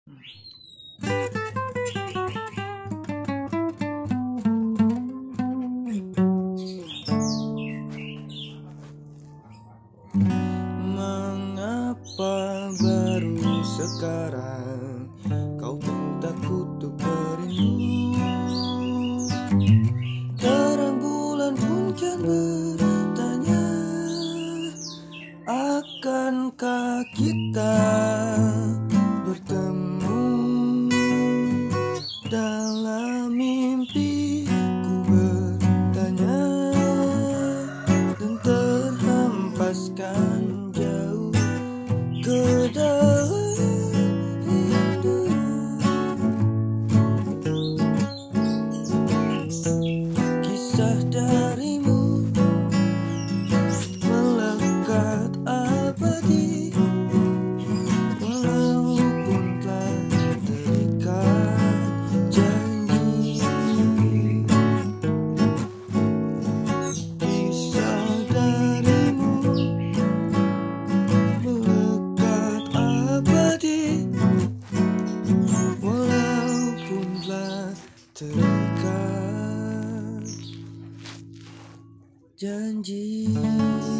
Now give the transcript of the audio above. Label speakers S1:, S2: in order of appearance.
S1: Mengapa baru sekarang kau mintaku untuk merindu? Terang bulan pun kian bertanya, akankah kita bertemu? Dalam mimpi ku bertanya dan terhempaskan jauh ke dalam rindu. Kisah darimu melekat abadi, walaupun telah terikat janji. Kisah darimu melekat abadi, walaupun telah terikat janji.